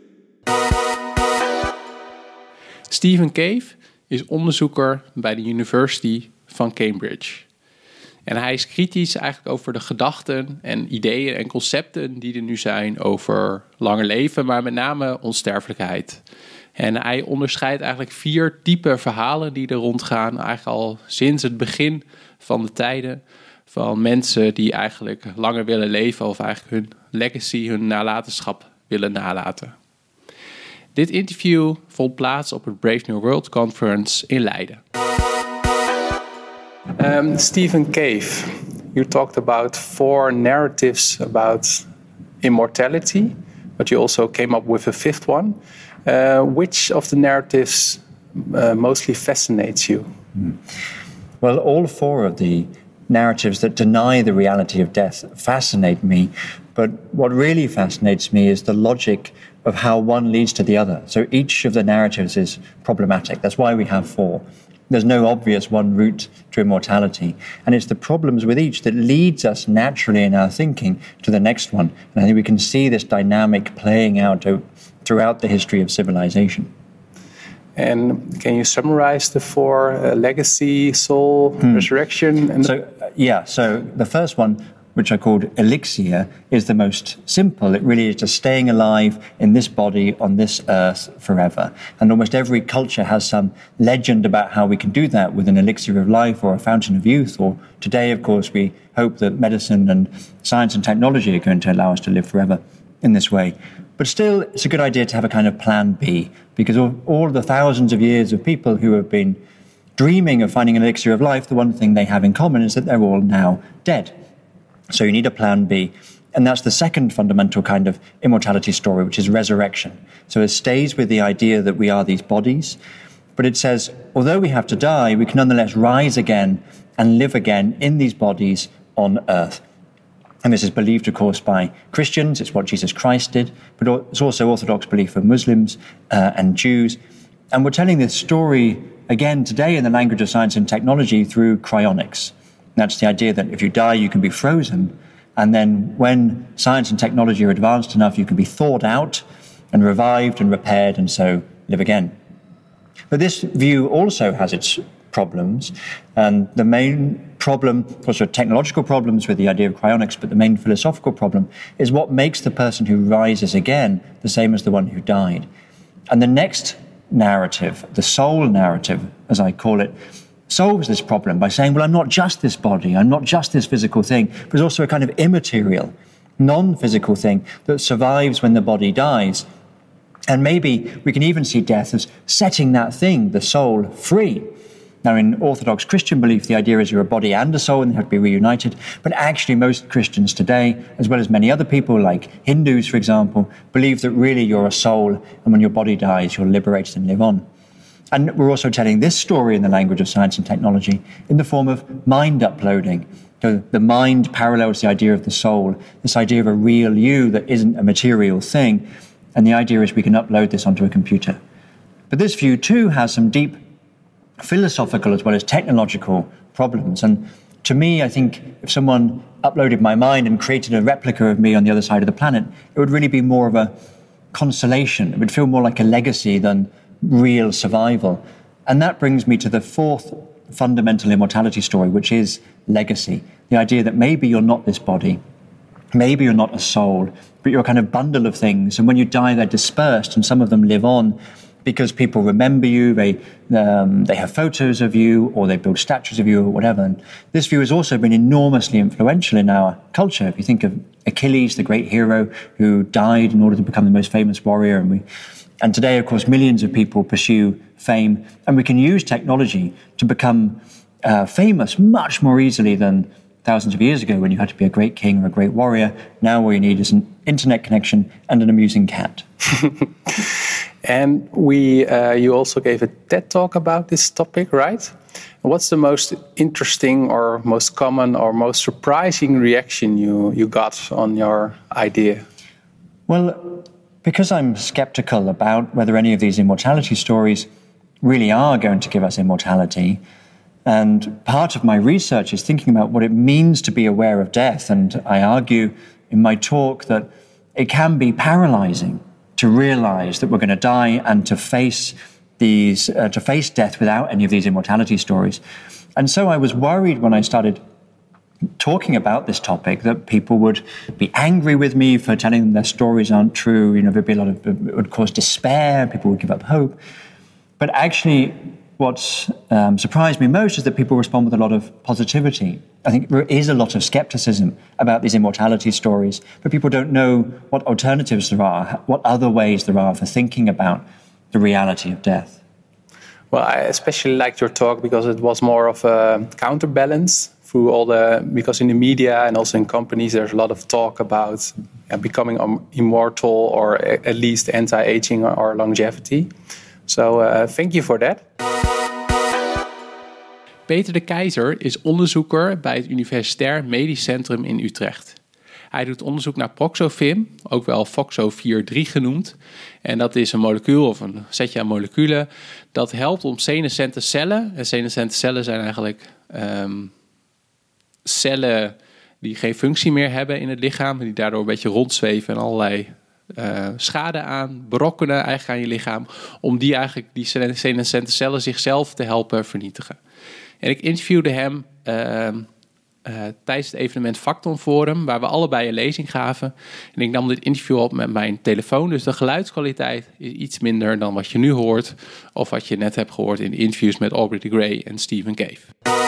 Stephen Cave is onderzoeker bij de University van Cambridge. En hij is kritisch eigenlijk over de gedachten en ideeën en concepten die er nu zijn over langer leven, maar met name onsterfelijkheid. En hij onderscheidt eigenlijk 4 typen verhalen die er rondgaan, eigenlijk al sinds het begin van de tijden, van mensen die eigenlijk langer willen leven of eigenlijk hun legacy, hun nalatenschap willen nalaten. Dit interview vond plaats op het Brave New World Conference in Leiden. Stephen Cave, you talked about 4 narratives about immortality, but you also came up with a 5th one. Which of the narratives mostly fascinates you? Well, all 4 of the narratives that deny the reality of death fascinate me, but what really fascinates me is the logic of how one leads to the other. So each of the narratives is problematic. That's why we have 4. There's no obvious one route to immortality. And it's the problems with each that leads us naturally in our thinking to the next one. And I think we can see this dynamic playing out throughout the history of civilization. And can you summarize the 4, legacy, soul, resurrection? So the first one, which I called elixir, is the most simple. It really is just staying alive in this body on this earth forever. And almost every culture has some legend about how we can do that with an elixir of life or a fountain of youth. Or today, of course, we hope that medicine and science and technology are going to allow us to live forever in this way. But still, it's a good idea to have a kind of plan B, because all the thousands of years of people who have been dreaming of finding an elixir of life, the one thing they have in common is that they're all now dead. So you need a plan B. And that's the second fundamental kind of immortality story, which is resurrection. So it stays with the idea that we are these bodies, but it says, although we have to die, we can nonetheless rise again and live again in these bodies on earth. And this is believed, of course, by Christians. It's what Jesus Christ did, but it's also Orthodox belief of Muslims and Jews. And we're telling this story again today in the language of science and technology through cryonics. That's the idea that if you die, you can be frozen. And then when science and technology are advanced enough, you can be thawed out and revived and repaired and so live again. But this view also has its problems. And the main problem, of course, there are technological problems with the idea of cryonics, but the main philosophical problem is what makes the person who rises again the same as the one who died. And the next narrative, the soul narrative, as I call it, solves this problem by saying, well, I'm not just this body, I'm not just this physical thing, but it's also a kind of immaterial, non-physical thing that survives when the body dies. And maybe we can even see death as setting that thing, the soul, free. Now, in Orthodox Christian belief, the idea is you're a body and a soul and they have to be reunited. But actually, most Christians today, as well as many other people, like Hindus, for example, believe that really you're a soul, and when your body dies, you're liberated and live on. And we're also telling this story in the language of science and technology in the form of mind uploading. So the mind parallels the idea of the soul, this idea of a real you that isn't a material thing. And the idea is we can upload this onto a computer. But this view, too, has some deep philosophical as well as technological problems. And to me, I think if someone uploaded my mind and created a replica of me on the other side of the planet, it would really be more of a consolation. It would feel more like a legacy than real survival. And that brings me to the 4th fundamental immortality story, which is legacy. The idea that maybe you're not this body, maybe you're not a soul, but you're a kind of bundle of things. And when you die, they're dispersed, and some of them live on because people remember you, they have photos of you, or they build statues of you, or whatever. And this view has also been enormously influential in our culture. If you think of Achilles, the great hero who died in order to become the most famous warrior, and today, of course, millions of people pursue fame, and we can use technology to become famous much more easily than thousands of years ago when you had to be a great king or a great warrior. Now all you need is an internet connection and an amusing cat. And you also gave a TED talk about this topic, right? What's the most interesting or most common or most surprising reaction you got on your idea? Well, because I'm skeptical about whether any of these immortality stories really are going to give us immortality, and part of my research is thinking about what it means to be aware of death, and I argue in my talk that it can be paralyzing to realize that we're going to die and to face death without any of these immortality stories. And so I was worried when I started talking about this topic that people would be angry with me for telling them their stories aren't true. It would cause despair. People would give up hope. But actually, what surprised me most is that people respond with a lot of positivity. I think there is a lot of skepticism about these immortality stories, but people don't know what alternatives there are, what other ways there are for thinking about the reality of death. Well, I especially liked your talk because it was more of a counterbalance because in the media and also in companies, there's a lot of talk about becoming immortal or at least anti-aging or longevity. So thank you for that. Peter de Keizer is onderzoeker bij het Universitair Medisch Centrum in Utrecht. Hij doet onderzoek naar Proxofim, ook wel FOXO4-3 genoemd. En dat is een molecuul of een setje aan moleculen dat helpt om senescente cellen. En senescente cellen zijn eigenlijk cellen die geen functie meer hebben in het lichaam. Die daardoor een beetje rondzweven en allerlei schade aan, berokkenen eigenlijk aan je lichaam. Om die senescente cellen zichzelf te helpen vernietigen. En ik interviewde hem tijdens het evenement Facton Forum, waar we allebei een lezing gaven. En ik nam dit interview op met mijn telefoon, dus de geluidskwaliteit is iets minder dan wat je nu hoort, of wat je net hebt gehoord in de interviews met Aubrey de Grey en Stephen Cave.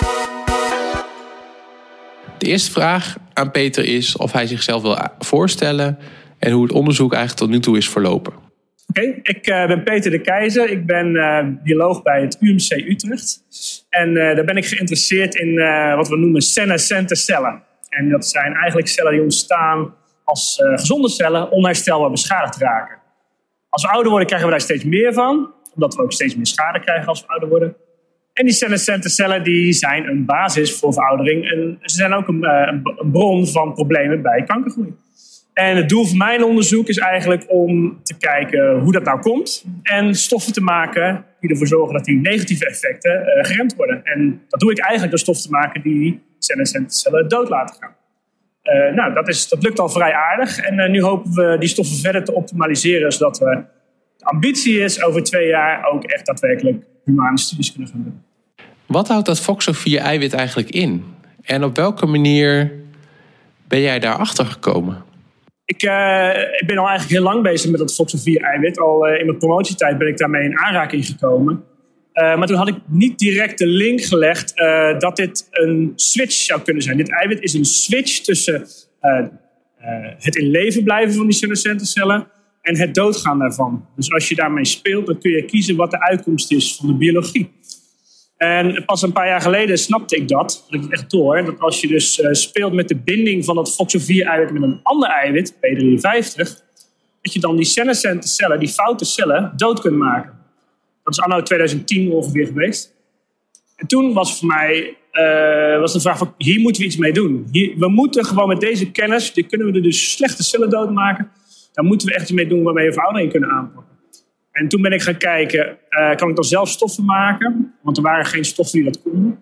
De eerste vraag aan Peter is of hij zichzelf wil voorstellen en hoe het onderzoek eigenlijk tot nu toe is verlopen. Oké, ik ben Peter de Keizer. Ik ben bioloog bij het UMC Utrecht. En daar ben ik geïnteresseerd in wat we noemen senescente cellen. En dat zijn eigenlijk cellen die ontstaan als gezonde cellen onherstelbaar beschadigd raken. Als we ouder worden krijgen we daar steeds meer van. Omdat we ook steeds meer schade krijgen als we ouder worden. En die senescente cellen die zijn een basis voor veroudering. En ze zijn ook een bron van problemen bij kankergroei. En het doel van mijn onderzoek is eigenlijk om te kijken hoe dat nou komt. En stoffen te maken die ervoor zorgen dat die negatieve effecten geremd worden. En dat doe ik eigenlijk door stoffen te maken die senescente cellen dood laten gaan. Dat lukt al vrij aardig. En nu hopen we die stoffen verder te optimaliseren. Zodat de ambitie is over 2 jaar ook echt daadwerkelijk humane studies kunnen gaan doen. Wat houdt dat FOXO4-eiwit eigenlijk in? En op welke manier ben jij daarachter gekomen? Ik ben al eigenlijk heel lang bezig met dat FOXO4-eiwit. Al in mijn promotietijd ben ik daarmee in aanraking gekomen. Maar toen had ik niet direct de link gelegd dat dit een switch zou kunnen zijn. Dit eiwit is een switch tussen het in leven blijven van die senescente cellen en het doodgaan daarvan. Dus als je daarmee speelt, dan kun je kiezen wat de uitkomst is van de biologie. En pas een paar jaar geleden snapte ik dat ik echt door. Dat als je dus speelt met de binding van dat FOXO4-eiwit met een ander eiwit, P53, dat je dan die senescente cellen, die foute cellen, dood kunt maken. Dat is anno 2010 ongeveer geweest. En toen was voor mij de vraag van, hier moeten we iets mee doen. We moeten gewoon met deze kennis, kunnen we dus slechte cellen doodmaken. Daar moeten we echt iets mee doen waarmee we veroudering kunnen aanpakken. En toen ben ik gaan kijken, kan ik dan zelf stoffen maken? Want er waren geen stoffen die dat konden.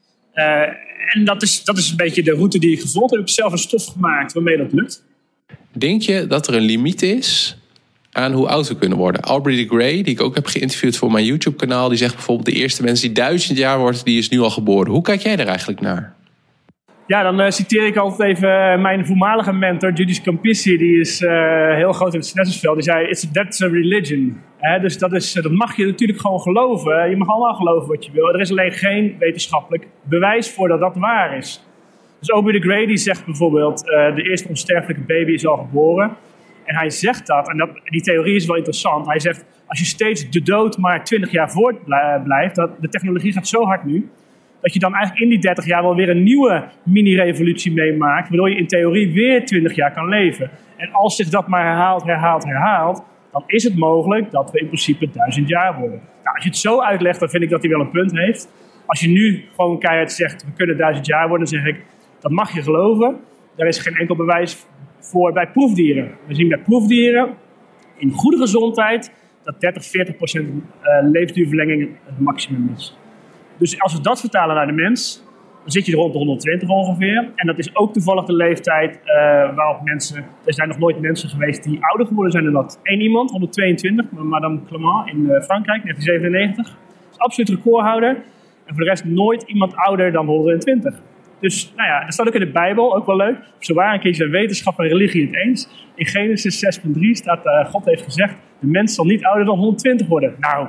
En dat is een beetje de route die ik gevolgd heb. Ik heb zelf een stof gemaakt waarmee dat lukt. Denk je dat er een limiet is aan hoe oud we kunnen worden? Aubrey de Grey, die ik ook heb geïnterviewd voor mijn YouTube-kanaal, die zegt bijvoorbeeld de eerste mens die 1000 jaar wordt, die is nu al geboren. Hoe kijk jij daar eigenlijk naar? Ja, dan citeer ik altijd even mijn voormalige mentor, Judith Campissi. Die is heel groot in het sinestesveld. Die zei, that's a religion. Dus dat mag je natuurlijk gewoon geloven. Je mag allemaal geloven wat je wil. Er is alleen geen wetenschappelijk bewijs voor dat dat waar is. Dus Aubrey de Grey die zegt bijvoorbeeld, de eerste onsterfelijke baby is al geboren. En hij zegt dat, en die theorie is wel interessant. Hij zegt, als je steeds de dood maar 20 jaar voort blijft, de technologie gaat zo hard nu, dat je dan eigenlijk in die 30 jaar wel weer een nieuwe mini-revolutie meemaakt, waardoor je in theorie weer 20 jaar kan leven. En als zich dat maar herhaalt, dan is het mogelijk dat we in principe 1000 jaar worden. Nou, als je het zo uitlegt, dan vind ik dat hij wel een punt heeft. Als je nu gewoon keihard zegt, we kunnen 1000 jaar worden, dan zeg ik, dat mag je geloven. Daar is geen enkel bewijs voor bij proefdieren. We zien bij proefdieren in goede gezondheid dat 30-40% levensduurverlenging het maximum is. Dus als we dat vertalen naar de mens, dan zit je er rond de 120 ongeveer. En dat is ook toevallig de leeftijd waarop mensen... Er zijn nog nooit mensen geweest die ouder geworden zijn dan dat. Eén iemand, 122, Madame Clement in Frankrijk, 1997. Dat is absoluut recordhouder. En voor de rest nooit iemand ouder dan 120. Dus nou ja, dat staat ook in de Bijbel, ook wel leuk. Zo waar een keer zijn wetenschap en religie het eens. In Genesis 6:3 staat, God heeft gezegd, de mens zal niet ouder dan 120 worden. Nou...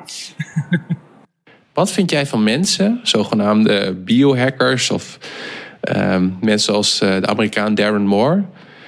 Wat vind jij van mensen, zogenaamde biohackers of mensen als de Amerikaan Darren Moore,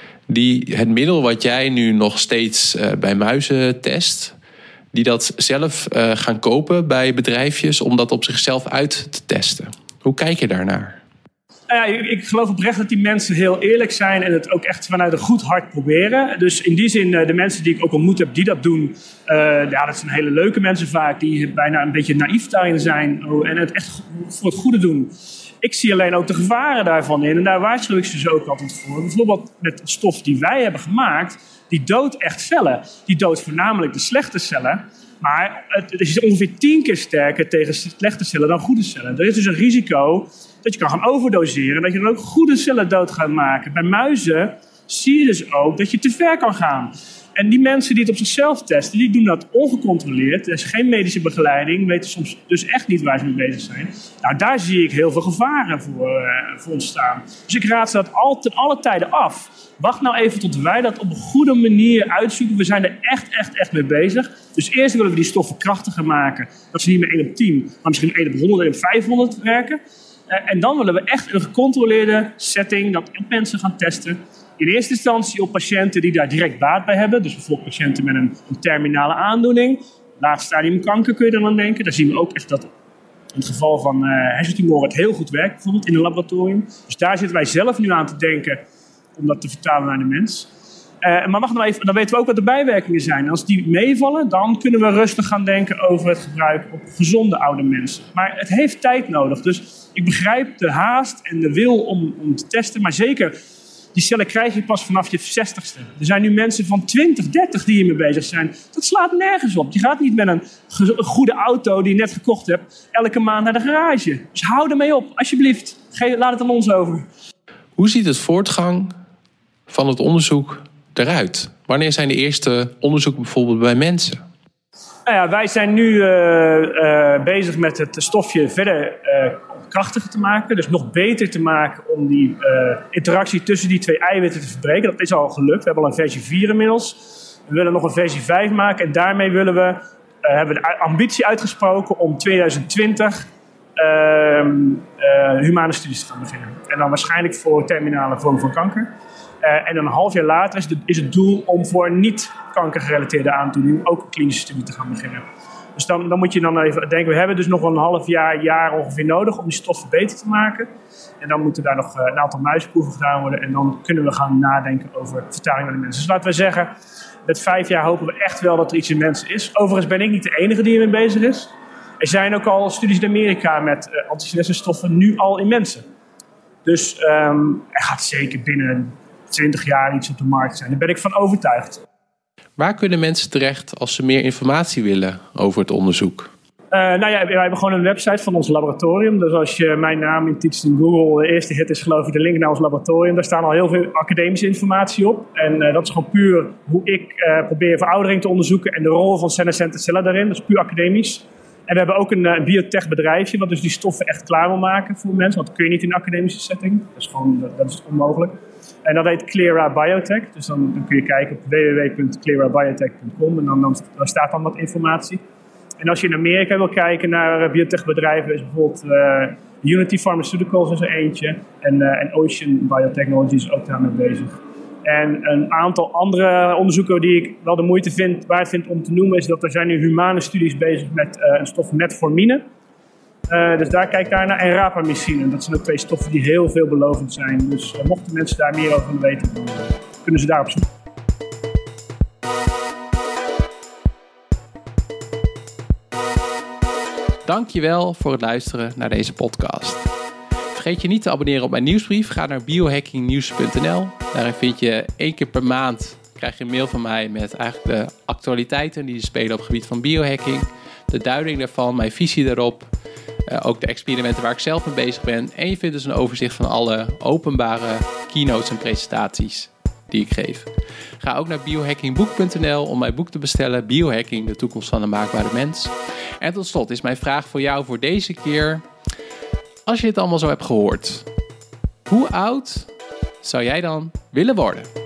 die het middel wat jij nu nog steeds bij muizen test, die dat zelf gaan kopen bij bedrijfjes om dat op zichzelf uit te testen? Hoe kijk je daarnaar? Nou ja, ik geloof oprecht dat die mensen heel eerlijk zijn en het ook echt vanuit een goed hart proberen. Dus in die zin, de mensen die ik ook ontmoet heb die dat doen, dat zijn hele leuke mensen vaak, die bijna een beetje naïef daarin zijn en het echt voor het goede doen. Ik zie alleen ook de gevaren daarvan in en daar waarschuw ik ze dus ook altijd voor. Bijvoorbeeld met de stof die wij hebben gemaakt, die doodt echt cellen. Die doodt voornamelijk de slechte cellen. Maar het is ongeveer 10 keer sterker tegen slechte cellen dan goede cellen. Er is dus een risico dat je kan gaan overdoseren en dat je dan ook goede cellen dood gaat maken. Bij muizen zie je dus ook dat je te ver kan gaan. En die mensen die het op zichzelf testen, die doen dat ongecontroleerd. Er is geen medische begeleiding, weten soms dus echt niet waar ze mee bezig zijn. Nou, daar zie ik heel veel gevaren voor ontstaan. Dus ik raad ze dat ten alle tijden af. Wacht nou even tot wij dat op een goede manier uitzoeken. We zijn er echt mee bezig. Dus eerst willen we die stoffen krachtiger maken. Dat ze niet meer 1 op 10, maar misschien 1 op 100 en 500 werken. En dan willen we echt een gecontroleerde setting dat op mensen gaan testen. In eerste instantie op patiënten die daar direct baat bij hebben. Dus bijvoorbeeld patiënten met een terminale aandoening. Laatste stadium kanker kun je dan aan denken. Daar zien we ook echt dat in het geval van hersentumoren het heel goed werkt. Bijvoorbeeld in een laboratorium. Dus daar zitten wij zelf nu aan te denken om dat te vertalen naar de mens. Maar wacht nou even, dan weten we ook wat de bijwerkingen zijn. En als die meevallen, dan kunnen we rustig gaan denken over het gebruik op gezonde oude mensen. Maar het heeft tijd nodig. Dus ik begrijp de haast en de wil om te testen. Maar zeker, die cellen krijg je pas vanaf je 60ste. Er zijn nu mensen van 20, 30 die hiermee bezig zijn. Dat slaat nergens op. Je gaat niet met een goede auto die je net gekocht hebt elke maand naar de garage. Dus hou ermee op, alsjeblieft. Laat het aan ons over. Hoe ziet het voortgang van het onderzoek eruit? Wanneer zijn de eerste onderzoeken bijvoorbeeld bij mensen? Nou ja, wij zijn nu bezig met het stofje verder krachtiger te maken. Dus nog beter te maken om die interactie tussen die 2 eiwitten te verbreken. Dat is al gelukt. We hebben al een versie 4 inmiddels. We willen nog een versie 5 maken. En daarmee hebben we de ambitie uitgesproken om 2020 humane studies te gaan beginnen. En dan waarschijnlijk voor terminale vorm van kanker. En dan een half jaar later is het doel om voor niet-kankergerelateerde aandoeningen ook een klinische studie te gaan beginnen. Dus dan moet je dan even denken, we hebben dus nog een half jaar ongeveer nodig om die stoffen beter te maken. En dan moeten daar nog een aantal muisproeven gedaan worden. En dan kunnen we gaan nadenken over vertaling naar de mensen. Dus laten we zeggen, met 5 jaar hopen we echt wel dat er iets in mensen is. Overigens ben ik niet de enige die ermee bezig is. Er zijn ook al studies in Amerika met antisenescenstoffen nu al in mensen. Dus er gaat zeker binnen 20 jaar iets op de markt zijn. Daar ben ik van overtuigd. Waar kunnen mensen terecht als ze meer informatie willen over het onderzoek? Wij hebben gewoon een website van ons laboratorium. Dus als je mijn naam intypt in Google, de eerste hit is geloof ik de link naar ons laboratorium. Daar staan al heel veel academische informatie op. En dat is gewoon puur hoe ik probeer veroudering te onderzoeken en de rol van senescente cellen daarin. Dat is puur academisch. En we hebben ook een biotech bedrijfje wat dus die stoffen echt klaar wil maken voor mensen. Want dat kun je niet in een academische setting. Dat is onmogelijk. En dat heet Clera Biotech. Dus dan kun je kijken op www.clerabiotech.com en dan staat dan wat informatie. En als je in Amerika wil kijken naar biotechbedrijven, is bijvoorbeeld Unity Pharmaceuticals is er eentje. En Ocean Biotechnology is ook daarmee bezig. En een aantal andere onderzoeken die ik wel de moeite waard vind om te noemen, is dat er zijn nu humane studies bezig met een stof metformine. Dus kijk daarnaar. En rapamycine. Dat zijn ook 2 stoffen die heel veelbelovend zijn. Dus mochten mensen daar meer over willen weten, dan kunnen ze daarop zoeken. Dankjewel voor het luisteren naar deze podcast. Vergeet je niet te abonneren op mijn nieuwsbrief. Ga naar biohackingnieuws.nl. Daarin vind je 1 keer per maand krijg je een mail van mij met eigenlijk de actualiteiten die spelen op het gebied van biohacking. De duiding daarvan, mijn visie daarop. Ook de experimenten waar ik zelf mee bezig ben. En je vindt dus een overzicht van alle openbare keynotes en presentaties die ik geef. Ga ook naar biohackingboek.nl om mijn boek te bestellen. Biohacking, de toekomst van de maakbare mens. En tot slot is mijn vraag voor jou voor deze keer. Als je dit allemaal zo hebt gehoord, hoe oud zou jij dan willen worden?